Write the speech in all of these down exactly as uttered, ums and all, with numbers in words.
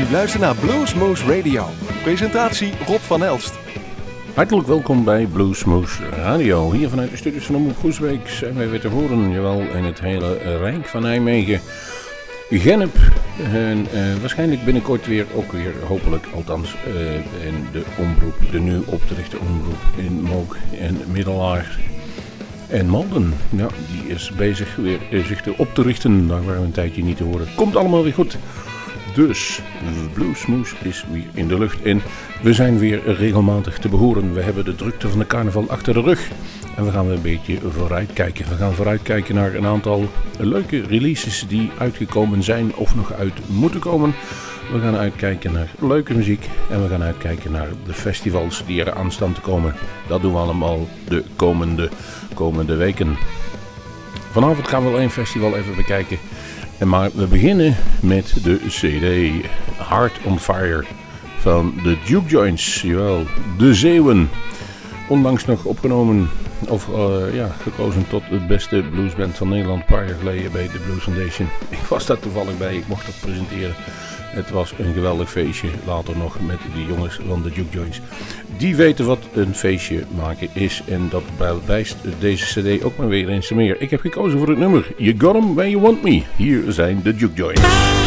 U luistert naar Bluesmoose Radio. Presentatie Rob van Elst. Hartelijk welkom bij Bluesmoose Radio. Hier vanuit de studios van Omroep Groesbeek zijn wij weer te horen, jawel, in het hele Rijk van Nijmegen. Gennep en uh, waarschijnlijk binnenkort weer, ook weer hopelijk, althans uh, in de omroep, de nu op te richten omroep in Mook en Middelaar. En Malden, ja, die is bezig weer uh, zich te op te richten, daar waren we een tijdje niet te horen. Komt allemaal weer goed. Dus, Bluesmoose is weer in de lucht en we zijn weer regelmatig te behoren. We hebben de drukte van de carnaval achter de rug en we gaan weer een beetje vooruitkijken. We gaan vooruitkijken naar een aantal leuke releases die uitgekomen zijn of nog uit moeten komen. We gaan uitkijken naar leuke muziek en we gaan uitkijken naar de festivals die er aan staan te komen. Dat doen we allemaal de komende, komende weken. Vanavond gaan we wel één festival even bekijken. Maar we beginnen met de C D Heart on Fire van de Duke Joints, jawel, de Zeeuwen. Onlangs nog opgenomen, of uh, ja, gekozen tot het beste bluesband van Nederland een paar jaar geleden bij de Blues Foundation. Ik was daar toevallig bij, ik mocht dat presenteren. Het was een geweldig feestje, later nog met de jongens van de Duke Joints. Die weten wat een feestje maken is en dat bewijst deze cd ook maar weer eens meer. Ik heb gekozen voor het nummer You Got 'Em Where You Want Me. Hier zijn de Duke Joints.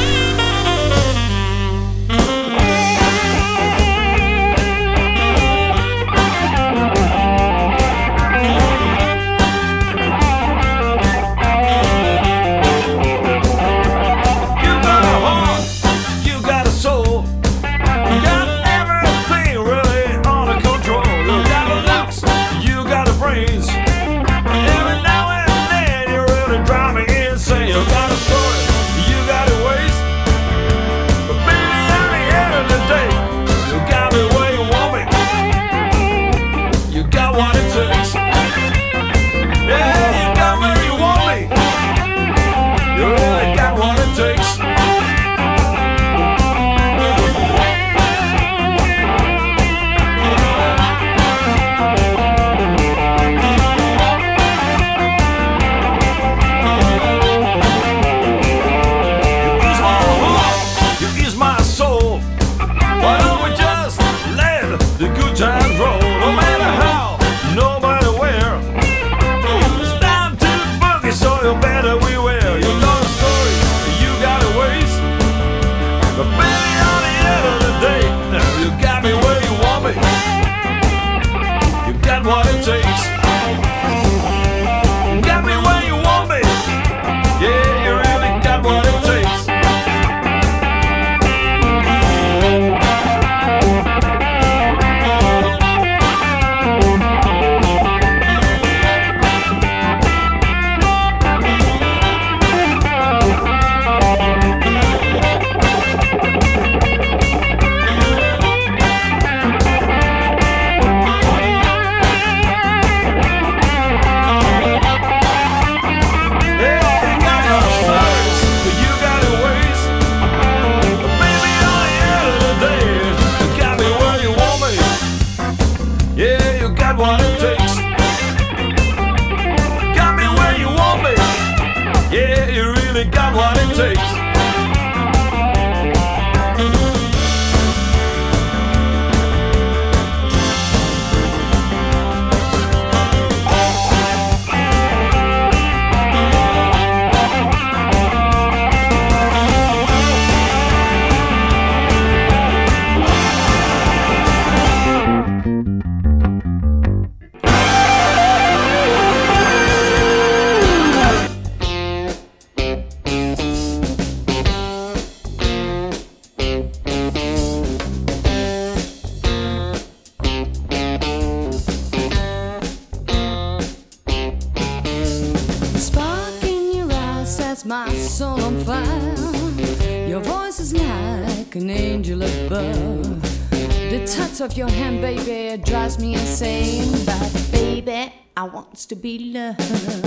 Of your hand, baby, it drives me insane. But baby, I want to be loved.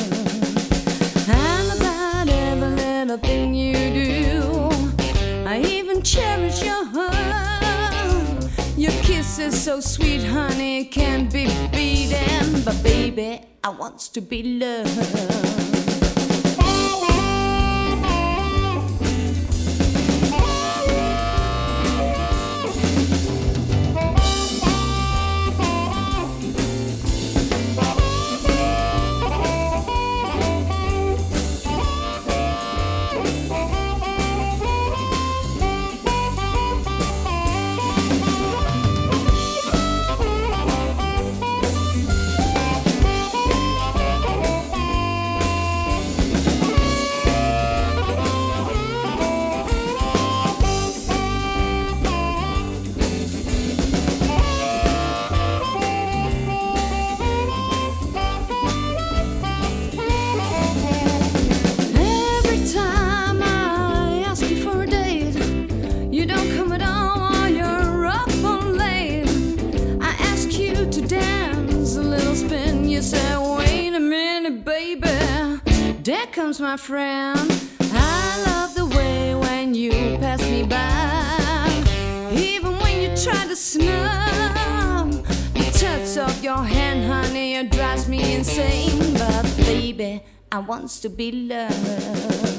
And about every little thing you do, I even cherish your heart. Your kiss is so sweet, honey, can't be beaten. But baby, I want to be loved. There comes my friend. I love the way when you pass me by. Even when you try to snub, the touch of your hand, honey, it drives me insane. But baby, I want to be loved.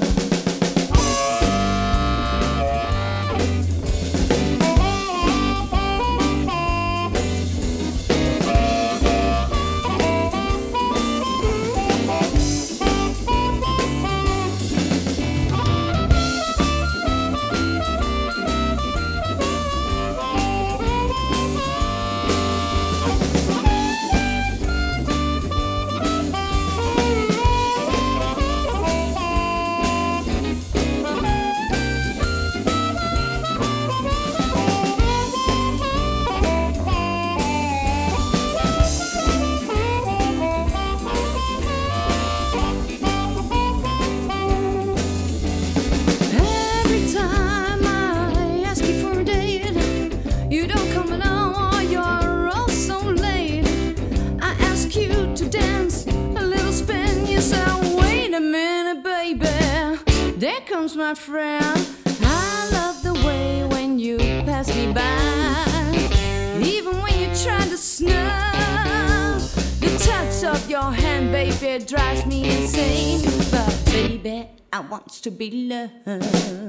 My friend, I love the way when you pass me by. Even when you try to snub, the touch of your hand, baby, drives me insane. But baby, I want to be loved.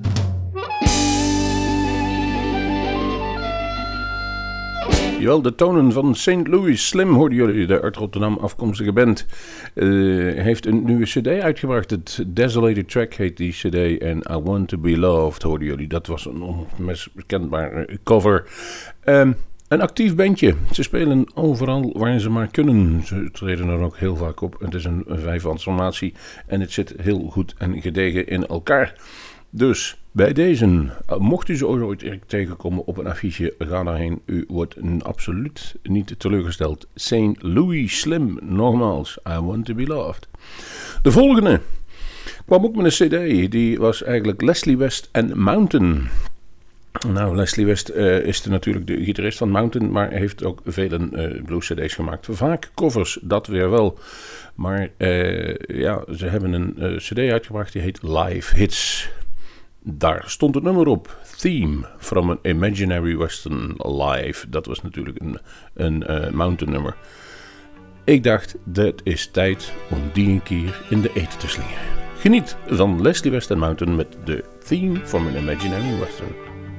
Jawel, de tonen van Saint Louis Slim hoorden jullie, de uit Rotterdam afkomstige band. Uh, heeft een nieuwe cd uitgebracht. Het Desolated Track heet die cd en I Want To Be Loved hoorden jullie. Dat was een onmiskenbare cover. Um, een actief bandje. Ze spelen overal waar ze maar kunnen. Ze treden er ook heel vaak op. Het is een vijfmansformatie en het zit heel goed en gedegen in elkaar. Dus bij deze, mocht u ze ooit tegenkomen op een affiche, ga daarheen. U wordt absoluut niet teleurgesteld. Saint Louis Slim, nogmaals, I Want To Be Loved. De volgende kwam ook met een cd, die was eigenlijk Leslie West en Mountain. Nou, Leslie West uh, is de, natuurlijk de gitarist van Mountain, maar heeft ook vele uh, blues cd's gemaakt. Vaak covers, dat weer wel. Maar uh, ja, ze hebben een uh, cd uitgebracht, die heet Live Hits. Daar stond het nummer op, Theme from an Imaginary Western Live. Dat was natuurlijk een, een uh, Mountain nummer. Ik dacht, dat is tijd om die een keer in de eten te slingen. Geniet van Leslie West en Mountain met de Theme from an Imaginary Western.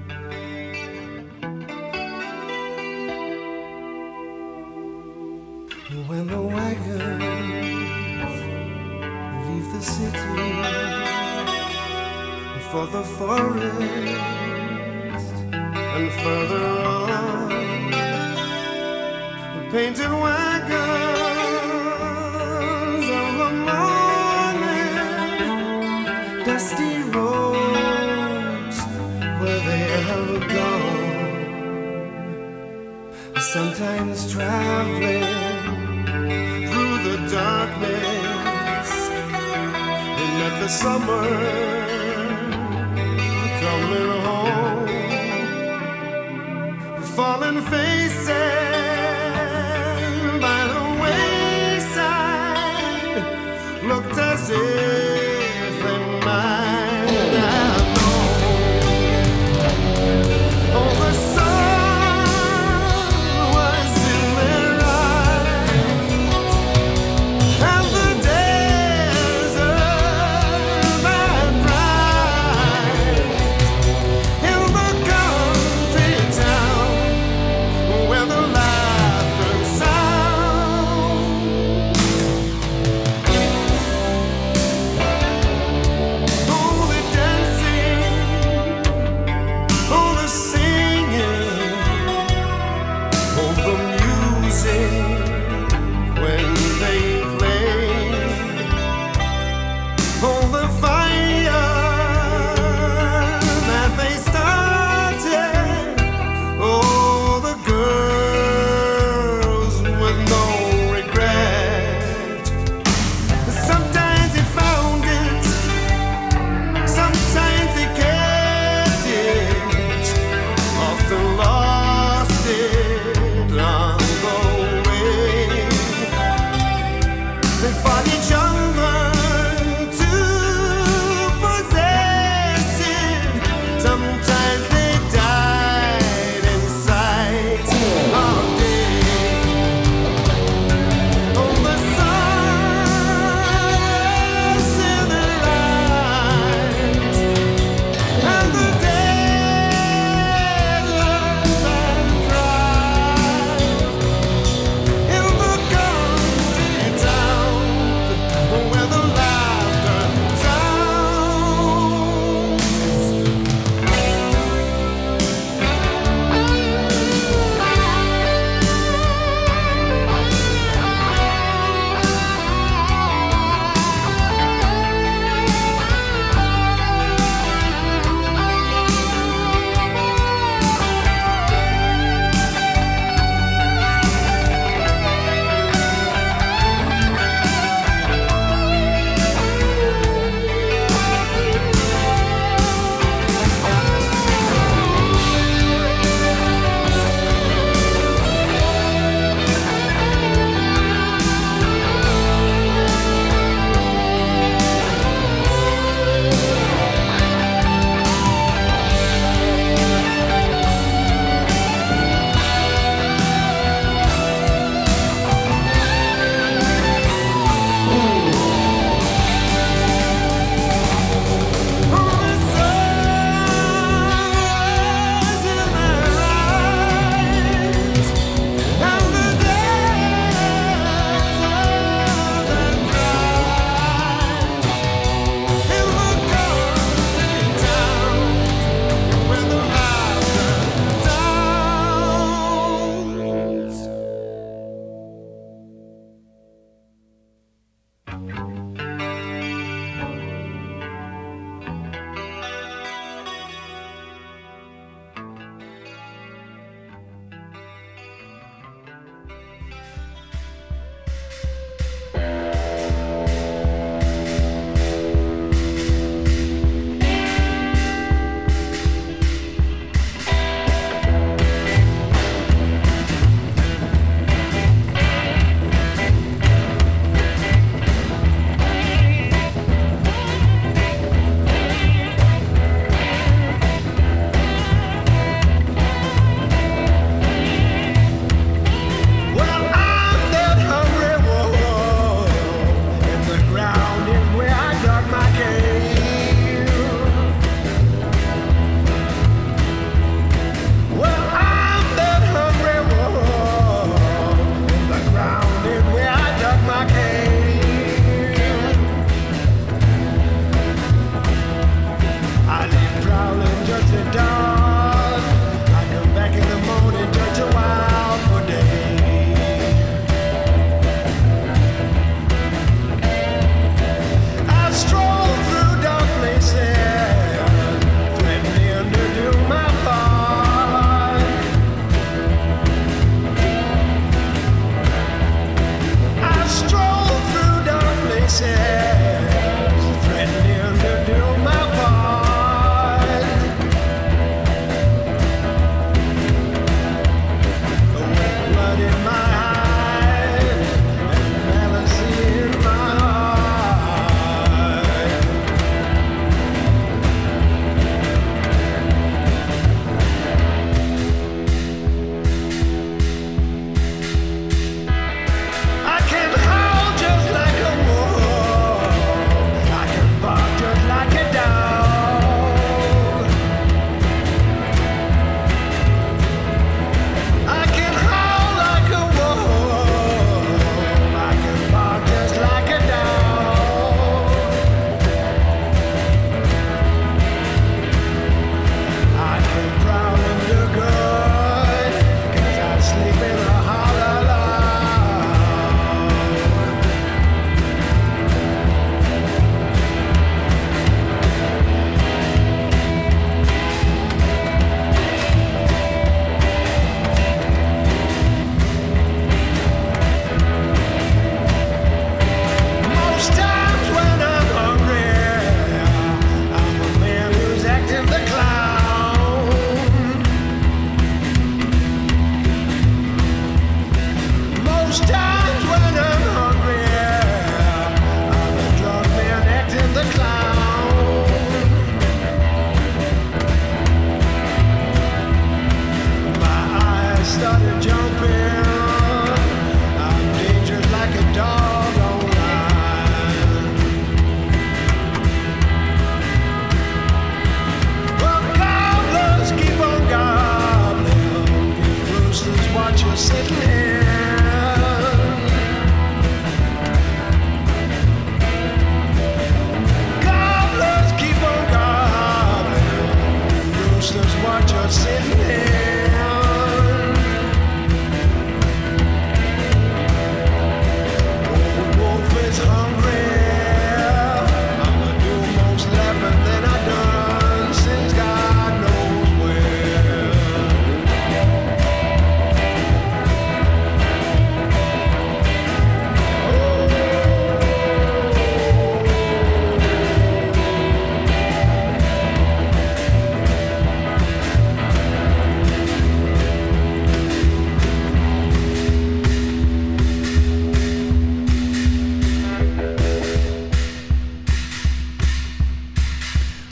When the wagons leave the city for the forest and further on, the painted wagons of the morning, dusty roads where they have gone, sometimes traveling through the darkness. We met the summer coming home, fallen faces by the wayside looked as if they might have known. Oh, the sun was in their eyes, and the desert that bright.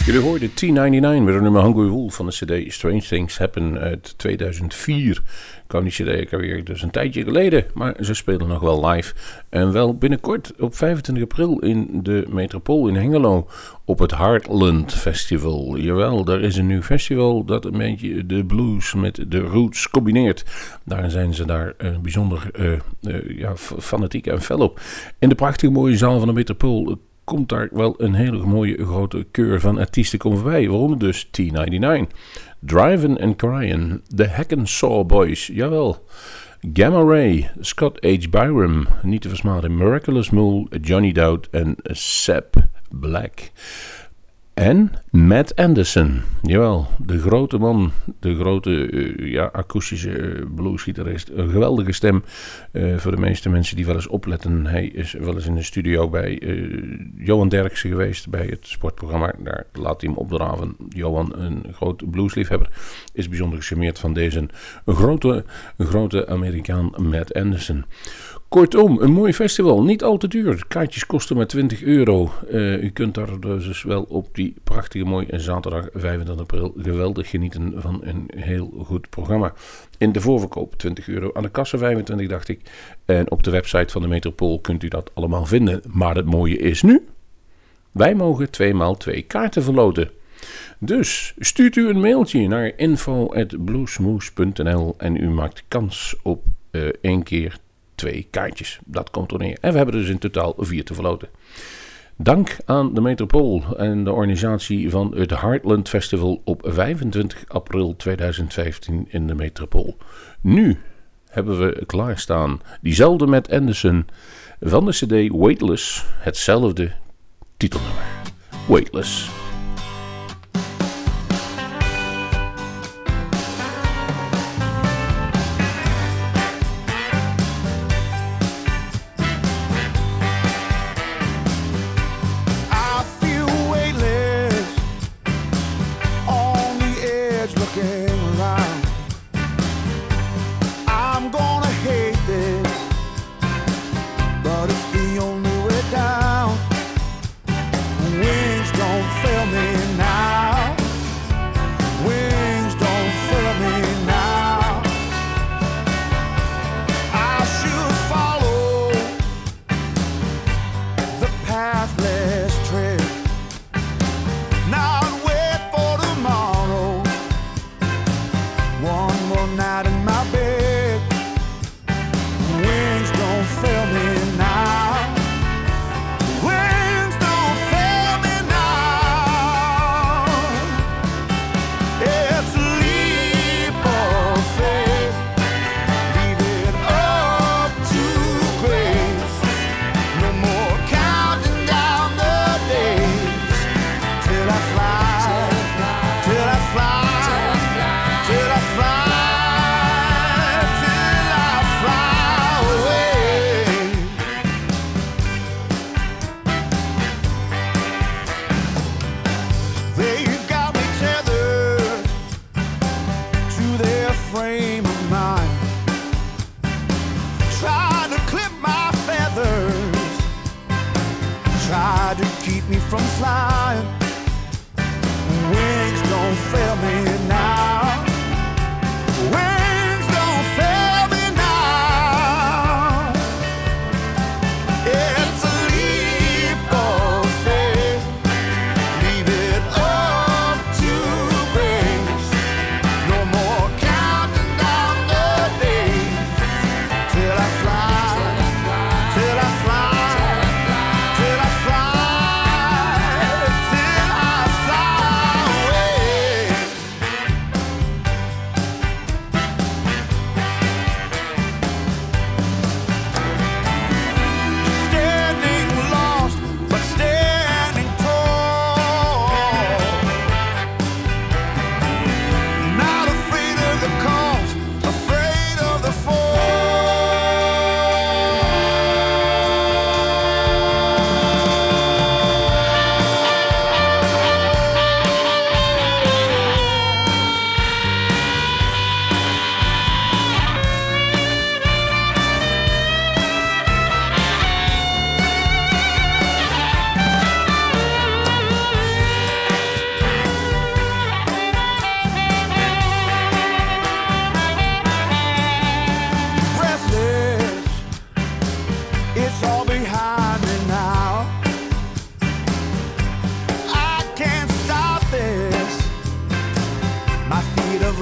Jullie hoorden T negenennegentig met een nummer Hungry Wolf van de cd Strange Things Happen uit tweeduizend vier. Kwam die cd ik alweer dus een tijdje geleden, maar ze spelen nog wel live. En wel binnenkort op vijfentwintig april in de Metropool in Hengelo op het Heartland Festival. Jawel, daar is een nieuw festival dat een beetje de blues met de roots combineert. Daar zijn ze daar uh, bijzonder uh, uh, ja, fanatiek en fel op. In de prachtige mooie zaal van de Metropool komt daar wel een hele mooie grote keur van artiesten komen voorbij. Waaronder dus T negenennegentig, Drivin' and Cryin', The Hackensaw Boys, jawel, Gamma Ray, Scott H. Byram, niet te versmaden, Miraculous Mule, Johnny Dowd en Sap Black. En Matt Anderson, jawel, de grote man, de grote uh, ja, akoestische uh, bluesgitarist. Een geweldige stem uh, voor de meeste mensen die wel eens opletten. Hij is wel eens in de studio bij uh, Johan Derksen geweest bij het sportprogramma. Daar laat hij hem opdraven. Johan, een groot bluesliefhebber, is bijzonder gecharmeerd van deze een grote, een grote Amerikaan Matt Anderson. Kortom, een mooi festival. Niet al te duur. Kaartjes kosten maar twintig euro. Uh, u kunt daar dus wel op die prachtige mooie zaterdag vijfentwintig april geweldig genieten van een heel goed programma. In de voorverkoop twintig euro. Aan de kassa vijfentwintig dacht ik. En op de website van de Metropool kunt u dat allemaal vinden. Maar het mooie is nu, wij mogen twee maal twee kaarten verloten. Dus stuurt u een mailtje naar info at bluesmoose punt n l en u maakt kans op uh, één keer twee kaartjes. Dat komt er neer. En we hebben dus in totaal vier te verloten. Dank aan de Metropool en de organisatie van het Heartland Festival op vijfentwintig april tweeduizend vijftien in de Metropool. Nu hebben we klaarstaan diezelfde Matt Anderson van de cd Weightless, hetzelfde titelnummer. Weightless.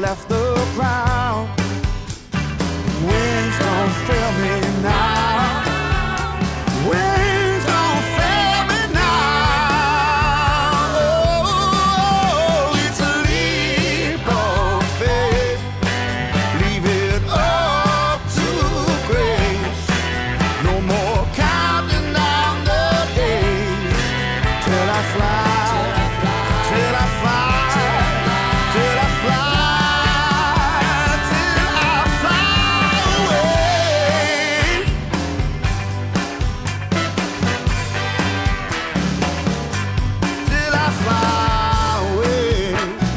left the ground. Wings don't fail me now. Wings don't fail me now. Oh, it's a leap of faith. Leave it up to grace. No more counting down the days till I fly, till I fly. Till I fly, till I fly away. Till I fly away.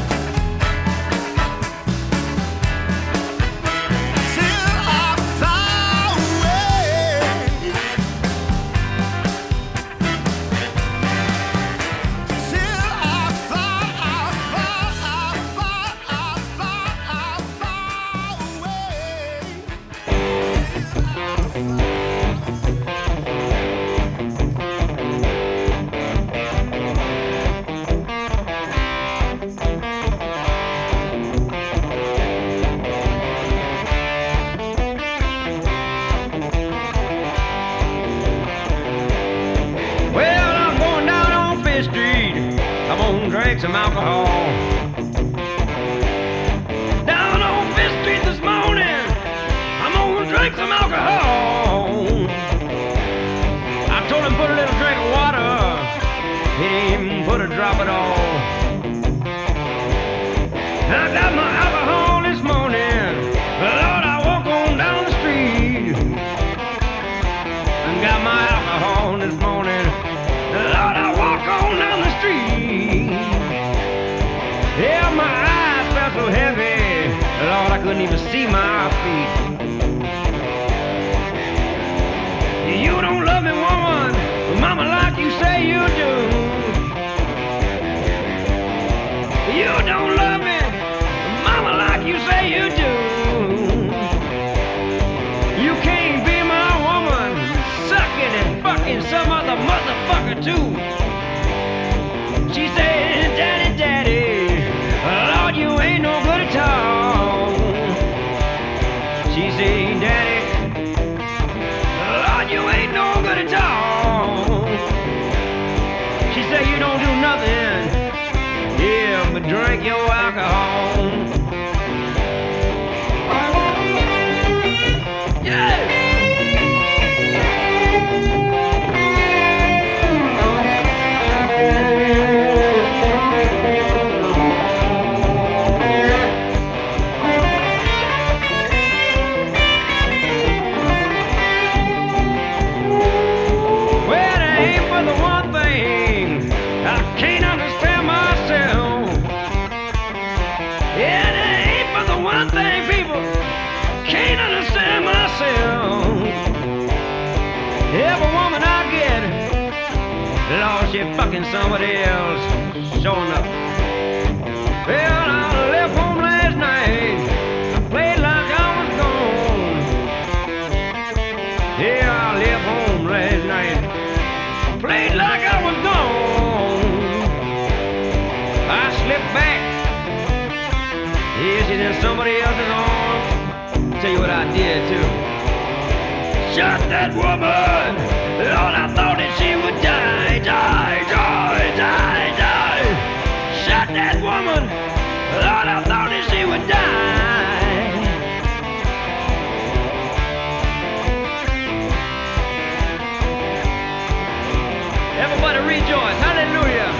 Till I fly away. Till I fly, I fly, I fly, I fly, I fly away. Well, I'm going down on Fifth Street. I'm gonna drink some alcohol. Down on Fifth Street this morning. I'm gonna drink some alcohol. I told him put a little drink of water. He didn't even put a drop at all. I got my alcohol this morning. Lord, I walk on down the street. I got my alcohol this morning. Lord, I walk on down the street. Yeah, my eyes felt so heavy. Lord, I couldn't even see my feet. You don't love me, woman, mama, like you say you do. You don't love me, mama, like you say you do. You can't be my woman, sucking and fucking some other motherfucker too. She said, Daddy, Daddy, Lord, you ain't no good at all. She said, Daddy, Lord, you ain't no good at all. She said, you don't do nothing, yeah, but drink your alcohol. Yeah! Well, it ain't for the one thing I can't understand myself. Yeah, it ain't for the one thing, people, can't understand myself. Every woman I get, Lord, she fucking somebody else, showing up. Well, I left home last night, I played like I was gone. Yeah, I left home last night, played like I was gone. I slipped back, yeah, she's in somebody else's arms. Tell you what I did too. Shot that woman, Lord, I thought that she would die, die, die, die, die. Shot that woman, Lord, I thought that she would die. Everybody rejoice, hallelujah.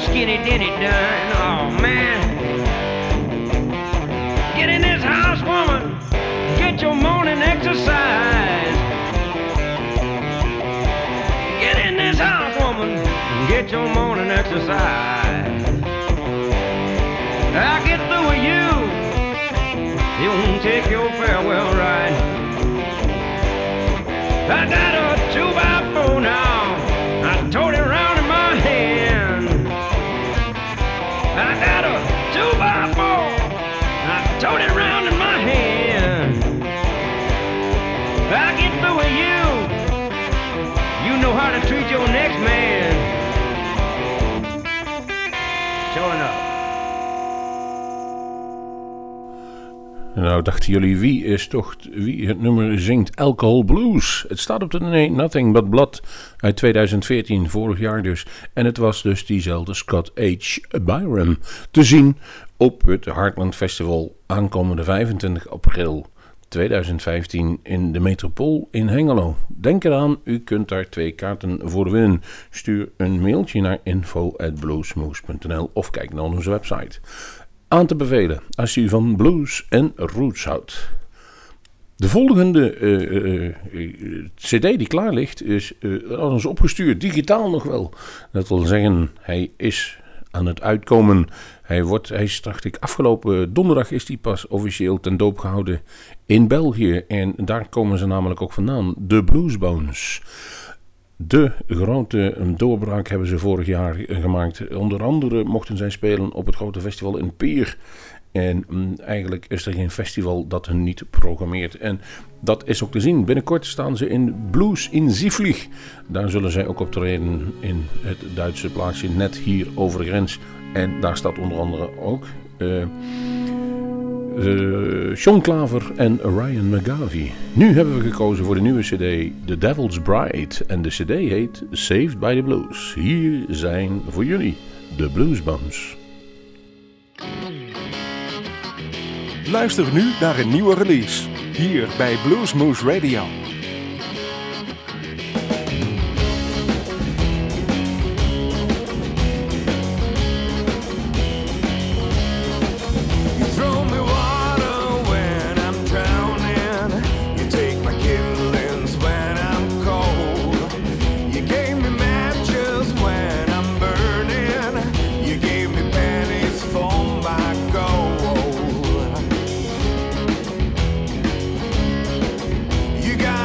skinny Denny done. Oh man. Get in this house, woman. Get your morning exercise. Get in this house, woman. Get your morning exercise. I'll get through with you. You won't take your farewell ride. I got a two by four now. I tote it around in my hand. I got a two by four. I tote it around in my hand. I get through with you. You know how to treat your next man. Sure enough. Nou, dachten jullie, wie is toch wie het nummer zingt? Alcohol Blues. Het staat op de nee, Nothing But Blood uit twintig veertien, vorig jaar dus. En het was dus diezelfde Scott H. Byram te zien op het Heartland Festival aankomende vijfentwintig april tweeduizend vijftien in de Metropool in Hengelo. Denk eraan, u kunt daar twee kaarten voor winnen. Stuur een mailtje naar info at bluesmoose punt n l of kijk naar onze website. Aan te bevelen als u van blues en roots houdt. De volgende uh, uh, uh, cd die klaar ligt is uh, aan ons opgestuurd, digitaal nog wel. Dat wil zeggen, hij is aan het uitkomen. Hij, wordt, hij is, dacht ik, afgelopen donderdag is hij pas officieel ten doop gehouden in België. En daar komen ze namelijk ook vandaan, de Bluesbones. De grote doorbraak hebben ze vorig jaar gemaakt. Onder andere mochten zij spelen op het grote festival in Pier. En mm, eigenlijk is er geen festival dat hen niet programmeert. En dat is ook te zien. Binnenkort staan ze in Blues in Zieflig. Daar zullen zij ook optreden in het Duitse plaatsje net hier over de grens. En daar staat onder andere ook Uh, Uh, Sean Klaver en Ryan McGarvey. Nu hebben we gekozen voor de nieuwe cd The Devil's Bride. En de cd heet Saved by the Blues. Hier zijn voor jullie de Bluesbones. Luister nu naar een nieuwe release. Hier bij Bluesmoose Radio. You got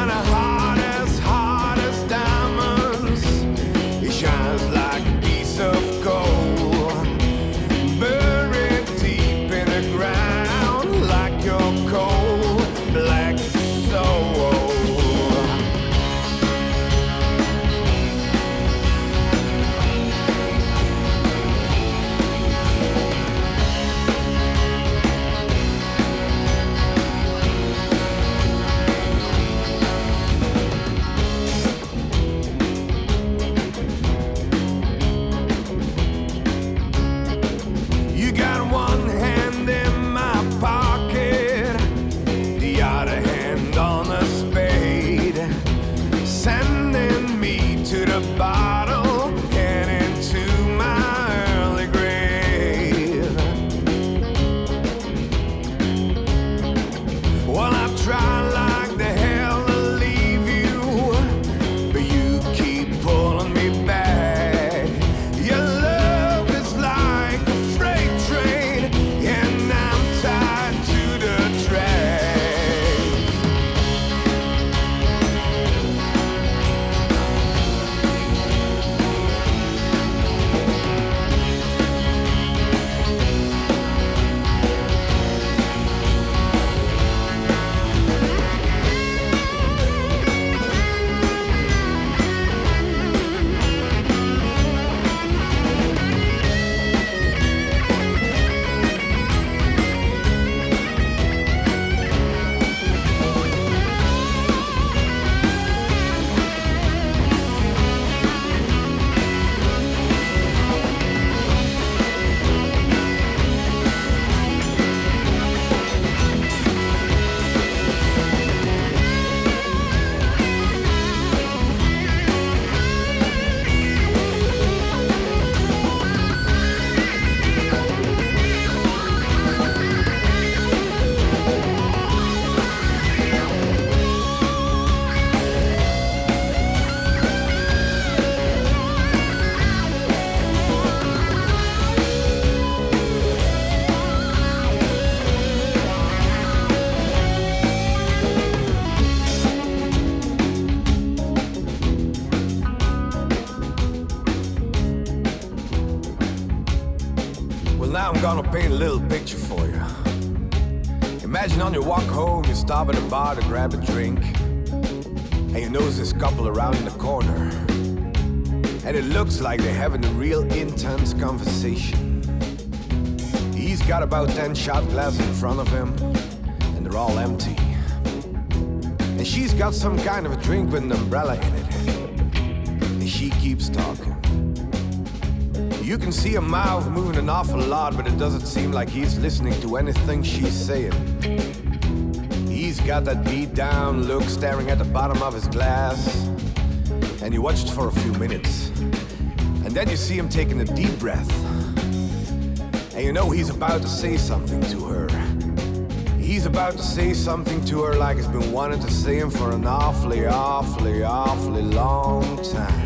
gonna paint a little picture for you. Imagine on your walk home, you stop at a bar to grab a drink, and you notice this couple around in the corner, and it looks like they're having a real intense conversation. He's got about ten shot glasses in front of him, and they're all empty. And she's got some kind of a drink with an umbrella in it, and she keeps talking. You can see her mouth moving an awful lot, but it doesn't seem like he's listening to anything she's saying. He's got that beat down look staring at the bottom of his glass, and you watch it for a few minutes. And then you see him taking a deep breath, and you know he's about to say something to her. He's about to say something to her like he's been wanting to say him for an awfully, awfully, awfully long time.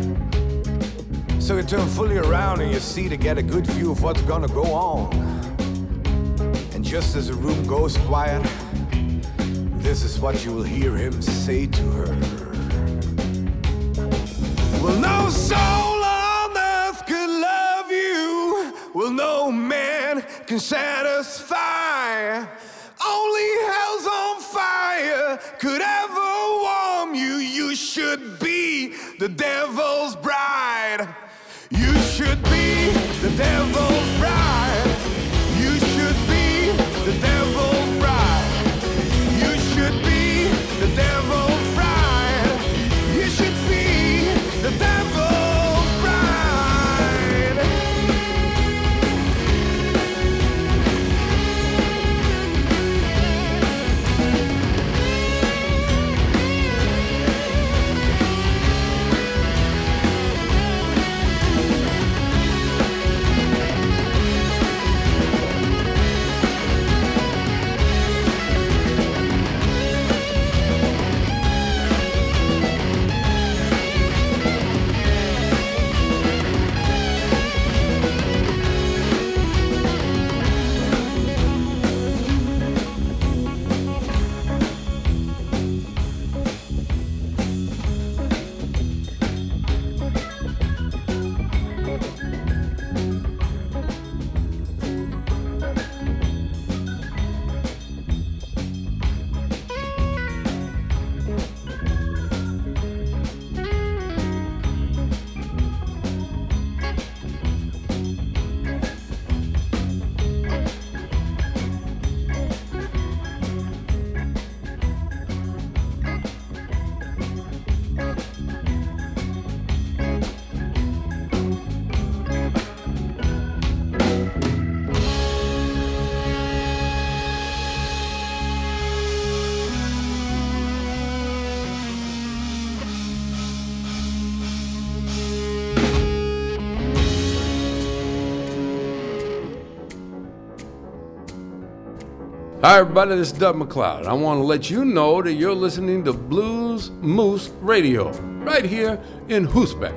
So you turn fully around and you see to get a good view of what's gonna go on. And just as the room goes quiet, this is what you will hear him say to her. Well, no soul on earth could love you. Well, no man can satisfy. Only hell's on fire could ever warm you. You should be the devil's bride. You should be the devil's bride. You should be the devil's bride. You should be the devil's bride. You should be the devil's bride. Hi everybody, this is Doug McLeod. I want to let you know that you're listening to Blues Moose Radio right here in Hoosbeck.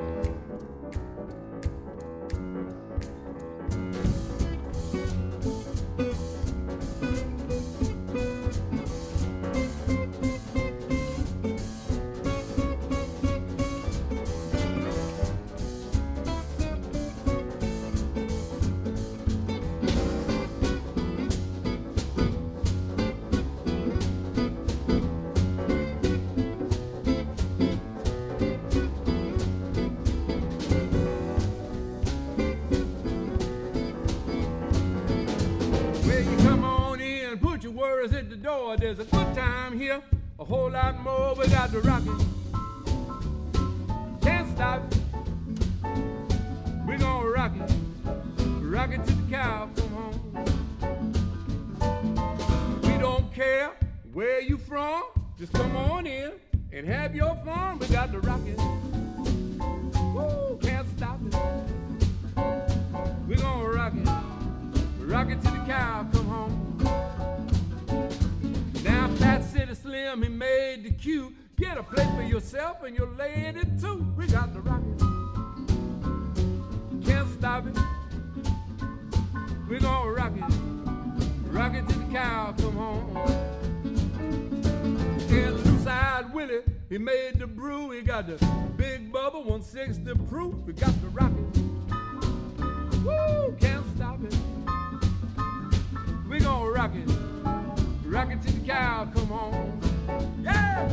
There's a good time here, a whole lot more. We got to rock it, can't stop it. We're gonna rock it, rock it till the cow come home. We don't care where you from, just come on in and have your fun. We got to rock it, woo, can't stop it. We're gonna rock it, rock it till the cow come home. Now Fat City Slim, he made the cue. Get a plate for yourself and your lady too. We got to rock it, can't stop it. We're gonna rock it, rock it till the cow come home. And True Side Willie, he made the brew. He got the Big Bubba one sixty proof. We got to rock it, woo, can't stop it. We gonna rock it, rock it till the cow come home. Yeah!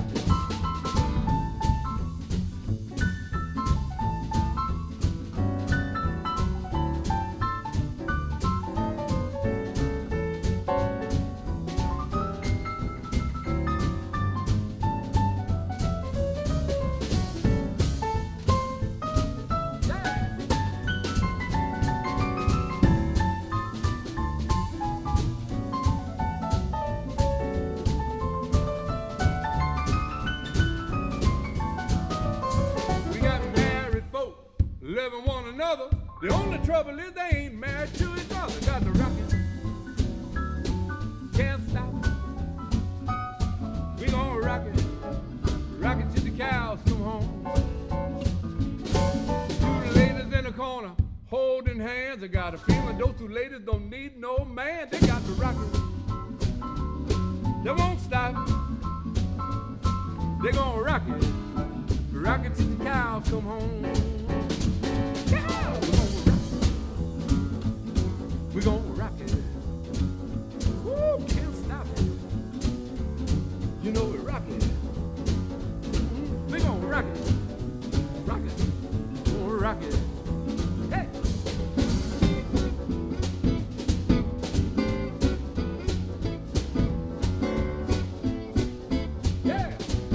Loving one another. The only trouble is they ain't married to each other. Got to rock it. Can't stop it. We gonna rock it. Rock it till the cows come home. Two ladies in the corner holding hands. I got a feeling those two ladies don't need no man. They got to rock it. They won't stop. They gonna rock it. Rock it till the cows come home. We gon' rock it. Woo, can't stop it. You know we rock it. Mm-hmm. We gon' rock it. Rock it. We gon' rock it. Hey. Yeah.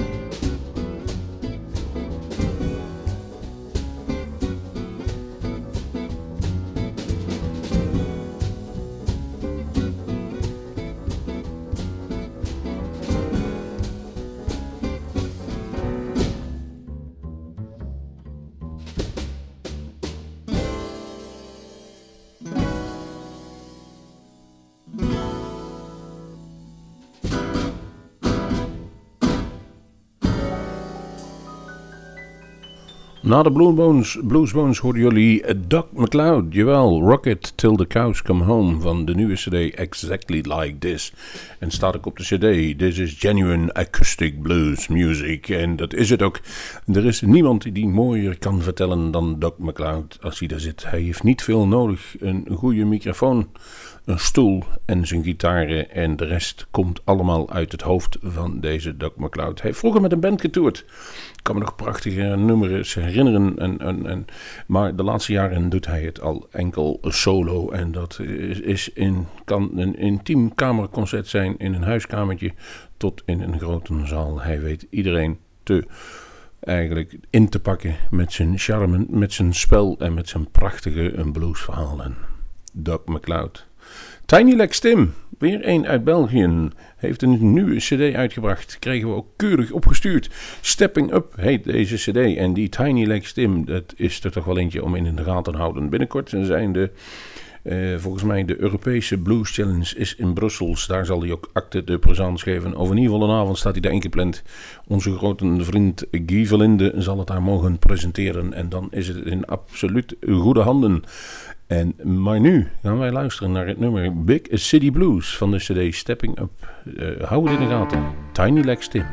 Na de Bluesbones, Bluesbones hoorden jullie Doc MacLeod, jawel, Rocket Till the Cows Come Home van de nieuwe cd Exactly Like This. En staat ook op de cd, This is Genuine Acoustic Blues Music. En dat is het ook. Er is niemand die die mooier kan vertellen dan Doc MacLeod als hij daar zit. Hij heeft niet veel nodig, een goede microfoon, een stoel en zijn gitaren en de rest komt allemaal uit het hoofd van deze Doc MacLeod. Hij heeft vroeger met een band getoerd. Ik kan me nog prachtige nummers herinneren, en, en, en, maar de laatste jaren doet hij het al enkel solo. En dat is, is in, kan een intiem kamerconcert zijn in een huiskamertje tot in een grote zaal. Hij weet iedereen te eigenlijk in te pakken met zijn charme, met zijn spel en met zijn prachtige bluesverhalen. Doc MacLeod. Tiny Legs Tim, weer een uit België, heeft een nieuwe cd uitgebracht. Kregen we ook keurig opgestuurd. Stepping Up heet deze cd. En die Tiny Legs Tim, dat is er toch wel eentje om in de gaten te houden. Binnenkort zijn de, uh, volgens mij de Europese Blues Challenge is in Brussel. Daar zal hij ook acte de présence geven. Of in ieder geval een avond staat hij daar ingepland. Onze grote vriend Guy Verlinde zal het daar mogen presenteren. En dan is het in absoluut goede handen. En, maar nu gaan wij luisteren naar het nummer Big City Blues van de cd Stepping Up. Uh, hou het in de gaten. Tiny Legs Tim.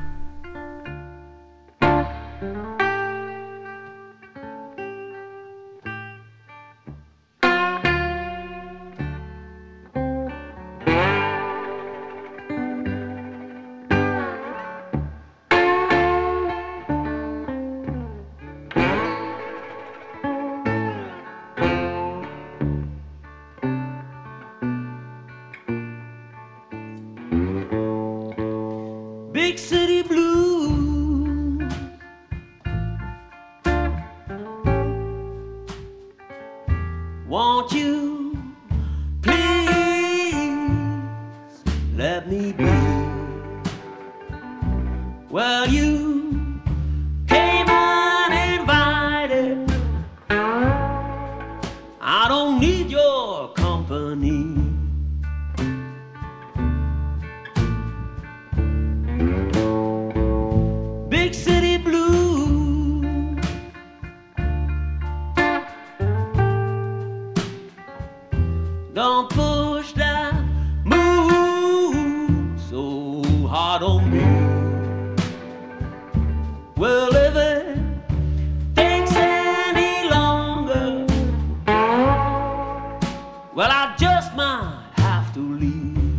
Big city blues, won't you please let me be? Well, you came uninvited, I don't need your company. Big city blues, don't push that move so hard on me. Well, if it takes any longer, well, I just might have to leave.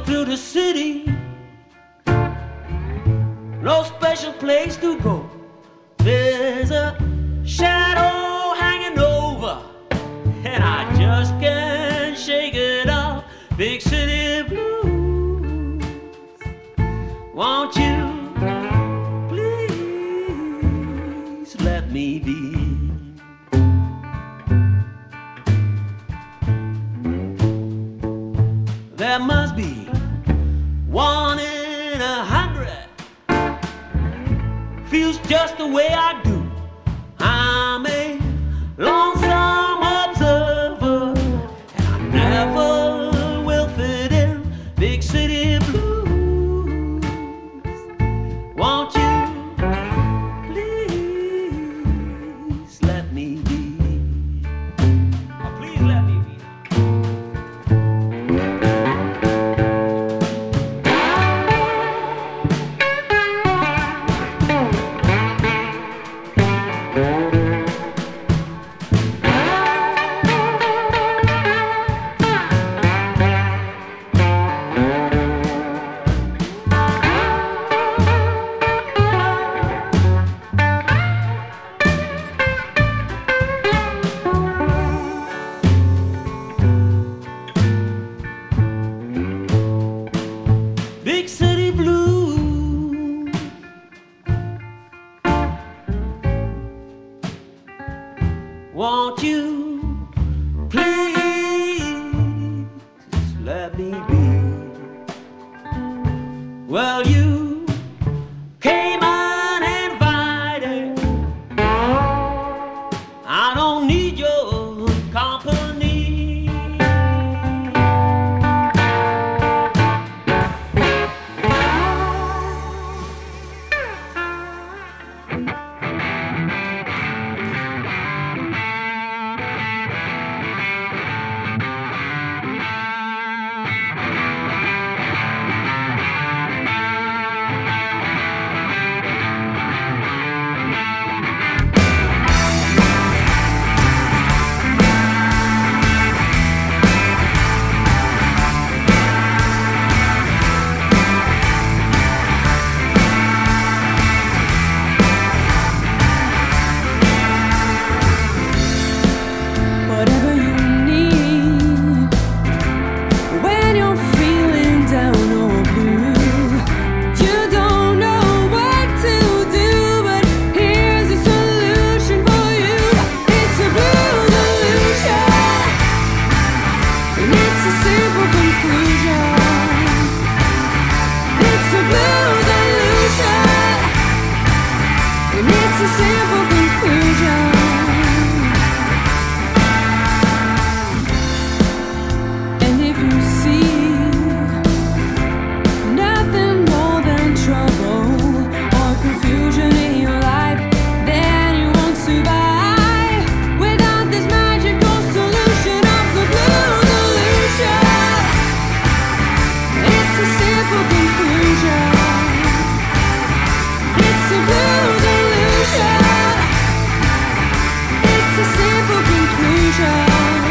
through the city, no special place to go. There's a shadow hanging over, and I just can't shake it off. Big city blues, won't you please let me be? There must be one in a hundred feels just the way I do. I'm a lonesome observer, and I never will fit in. Big city blues, won't you please let me be? Oh, please let me be. Big city blues, won't you please let me be? Well, you came uninvited, I don't need your company. Whatever you need when you're feeling down or blue, you don't know what to do, but here's a solution for you. It's a blue solution, and it's a simple conclusion. It's a blue solution, and it's a simple conclusion. And if you see nothing more than trouble or confusion in your life, then you won't survive without this magical solution of the blue solution. It's a simple conclusion. It's a blue solution. It's a simple conclusion.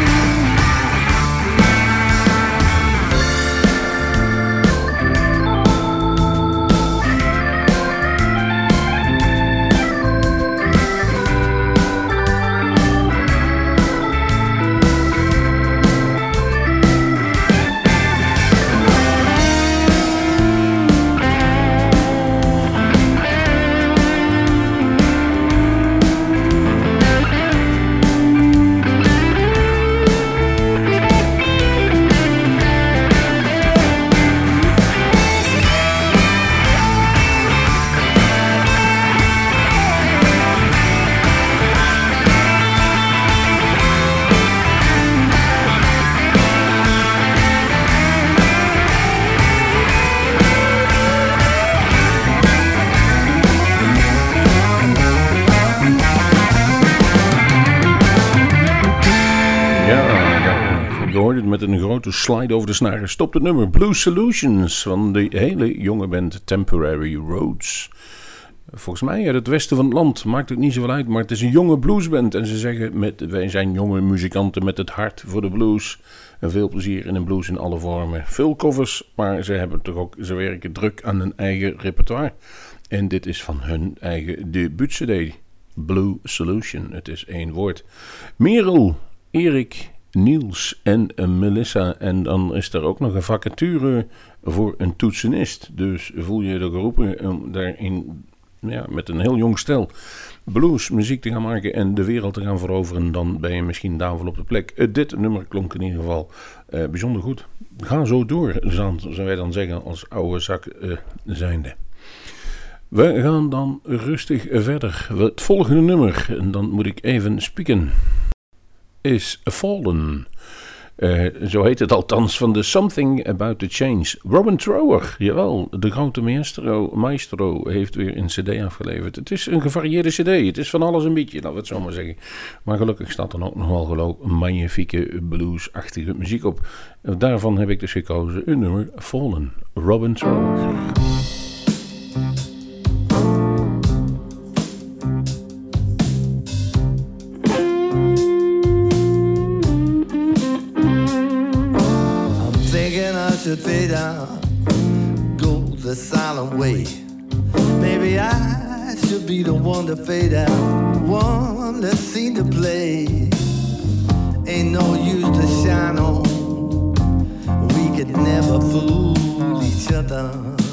Je hoort het met een grote slide over de snaren. Stopt het nummer Blue Solutions van de hele jonge band Temporary Roads. volgens mij uit het westen van het land. Maakt het niet zoveel uit, maar het is een jonge bluesband. En ze zeggen, met, wij zijn jonge muzikanten met het hart voor de blues. En veel plezier in een blues in alle vormen. Veel covers, maar ze hebben toch ook, ze werken druk aan hun eigen repertoire. En dit is van hun eigen debuut-cd. Blue Solution, het is één woord. Merel, Erik, Niels en Melissa. En dan is er ook nog een vacature voor een toetsenist. Dus voel je er geroepen om daarin, ja, met een heel jong stel blues muziek te gaan maken en de wereld te gaan veroveren, dan ben je misschien daar wel op de plek. Uh, dit nummer klonk in ieder geval uh, bijzonder goed. Ga zo door, zullen wij dan zeggen, als oude zak uh, zijnde. We gaan dan rustig verder. Het volgende nummer, en dan moet ik even spieken, is Fallen. Uh, zo heet het althans, van The Something About the Change. Robin Trower, jawel, de grote maestro, maestro heeft weer een cd afgeleverd. Het is een gevarieerde cd, het is van alles een beetje, laten we het zo maar zeggen. Maar gelukkig staat er ook nog wel geloof een magnifieke bluesachtige muziek op. Daarvan heb ik dus gekozen een nummer, Fallen, Robin Trower. Should fade out, go the silent way. Maybe I should be the one to fade out, one that's seen to play. Ain't no use to shine on, we could never fool each other.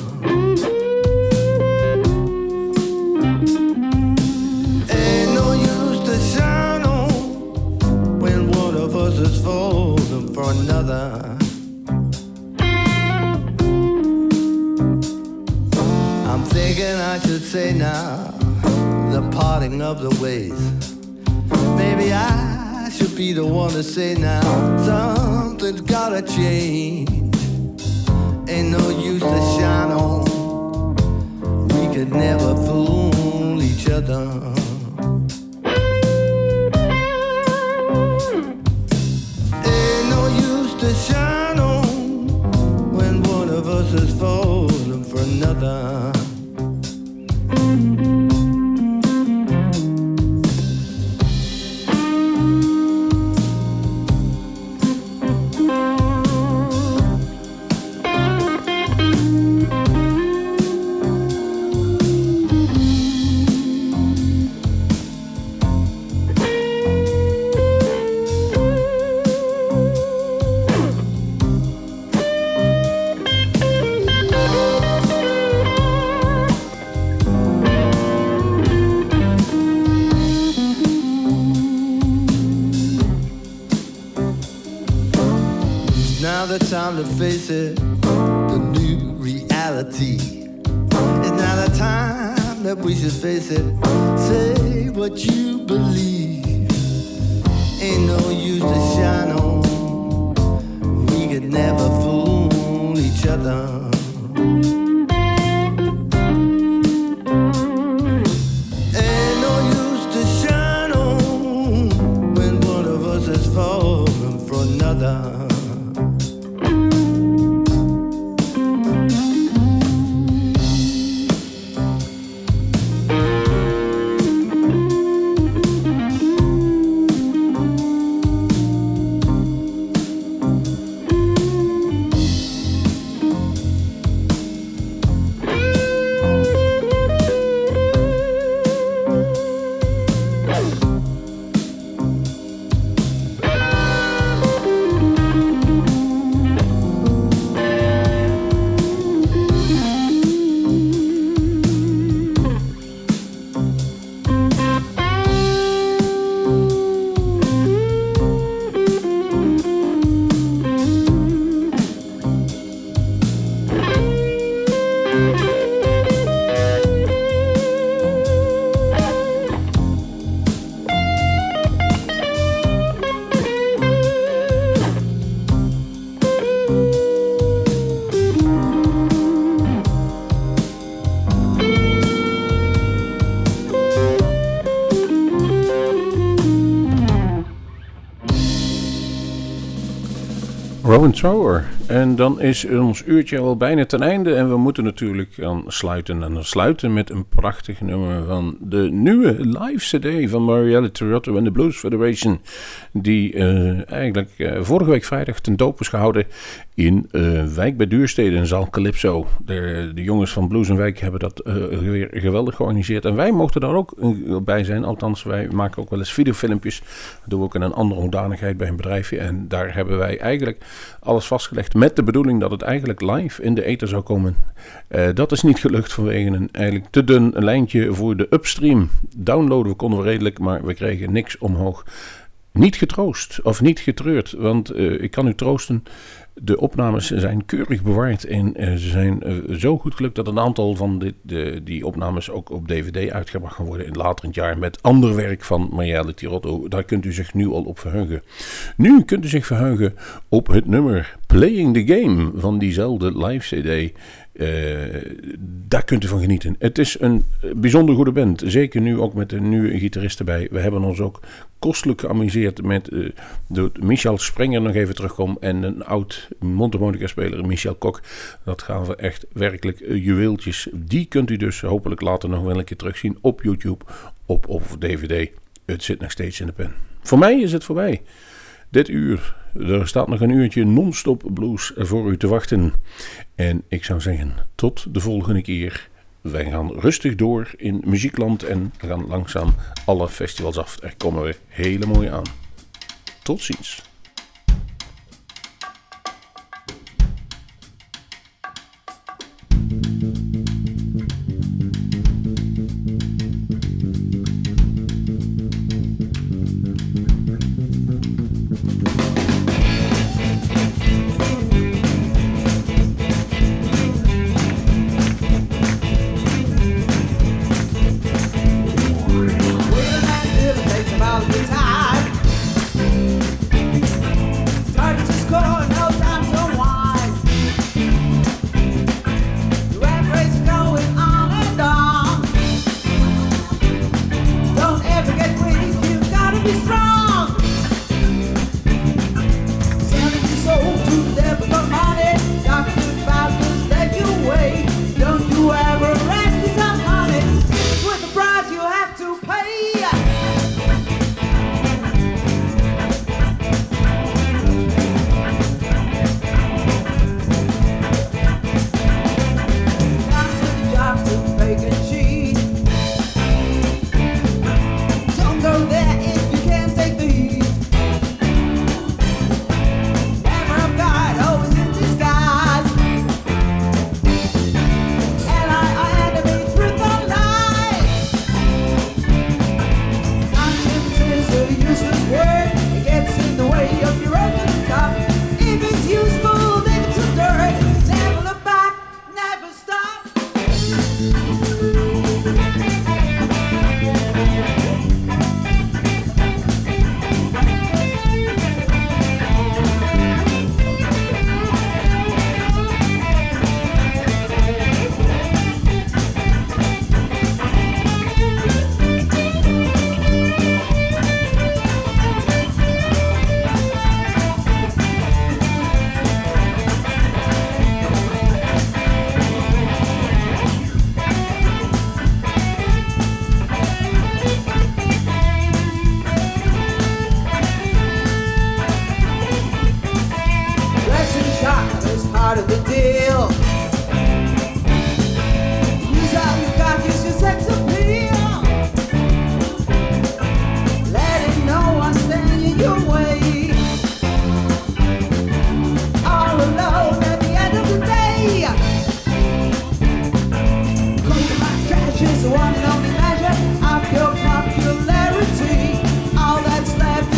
Ain't no use to shine on when one of us is falling for another. Thinking I should say now, the parting of the ways. Maybe I should be the one to say now, something's gotta change. Ain't no use to shine on, we could never fool each other. Ain't no use to shine on when one of us is falling for another. Time to face it, the new reality. It's now the time that we should face it. Say what you believe. Ain't no use to shine on, we could never fool each other. Ain't no use to shine on when one of us is falling for another. Robin Trower En dan is ons uurtje al bijna ten einde. En we moeten natuurlijk gaan sluiten. En dan sluiten met een prachtig nummer van de nieuwe live cd van Marielle Trujillo en de Blues Federation. Die uh, eigenlijk uh, vorige week vrijdag ten doop is gehouden in uh, Wijk bij Duurstede in zaal Calypso. De, de jongens van Blues en Wijk hebben dat uh, weer geweldig georganiseerd. En wij mochten daar ook uh, bij zijn. Althans, wij maken ook wel eens videofilmpjes. Dat doen we ook in een andere hoedanigheid bij een bedrijfje. En daar hebben wij eigenlijk alles vastgelegd met de bedoeling dat het eigenlijk live in de ether zou komen. Uh, dat is niet gelukt vanwege een eigenlijk te dun lijntje voor de upstream. Downloaden we konden we redelijk, maar we kregen niks omhoog. Niet getroost of niet getreurd, want uh, ik kan u troosten. De opnames zijn keurig bewaard en uh, ze zijn uh, zo goed gelukt dat een aantal van dit, de, die opnames ook op D V D uitgebracht gaan worden in later in het jaar met ander werk van Marielle Trujillo. Daar kunt u zich nu al op verheugen. Nu kunt u zich verheugen op het nummer Playing the Game van diezelfde live cd. Uh, daar kunt u van genieten. Het is een bijzonder goede band. Zeker nu ook met een nieuwe gitarist erbij. We hebben ons ook kostelijk geamuseerd met uh, de Michel Sprenger nog even terugkomt en een oud mondharmonica speler Michel Kok. Dat gaan we echt werkelijk uh, juweeltjes. Die kunt u dus hopelijk later nog wel een keer terugzien op YouTube op, of D V D. Het zit nog steeds in de pen. Voor mij is het voorbij. Dit uur. Er staat nog een uurtje non-stop blues voor u te wachten. En ik zou zeggen, tot de volgende keer. Wij gaan rustig door in muziekland en we gaan langzaam alle festivals af. Er komen weer hele mooie aan. Tot ziens.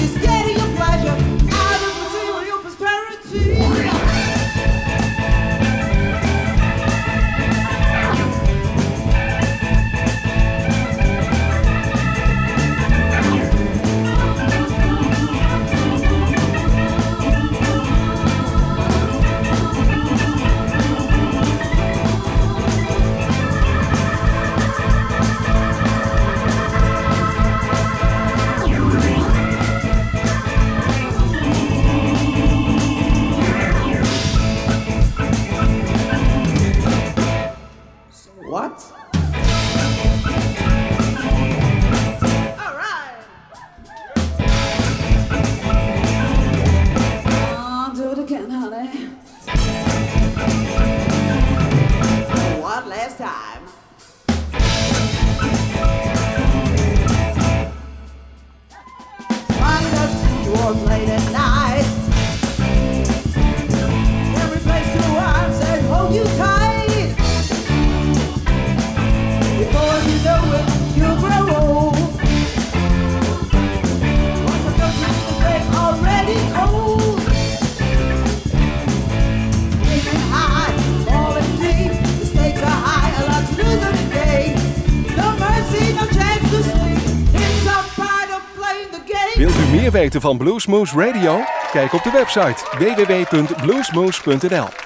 Out of material prosperity. performs late at night. Every place to arms and hold you tight. Before you know it, you'll grow old. Once I go to the break already cold. Aiming high, falling deep. The stakes are high, a lot to lose every day. No mercy, no chance to sleep. It's a part of playing the game. Wilt u meer weten van Bluesmoose Radio? Kijk op de website w w w punt bluesmoose punt n l.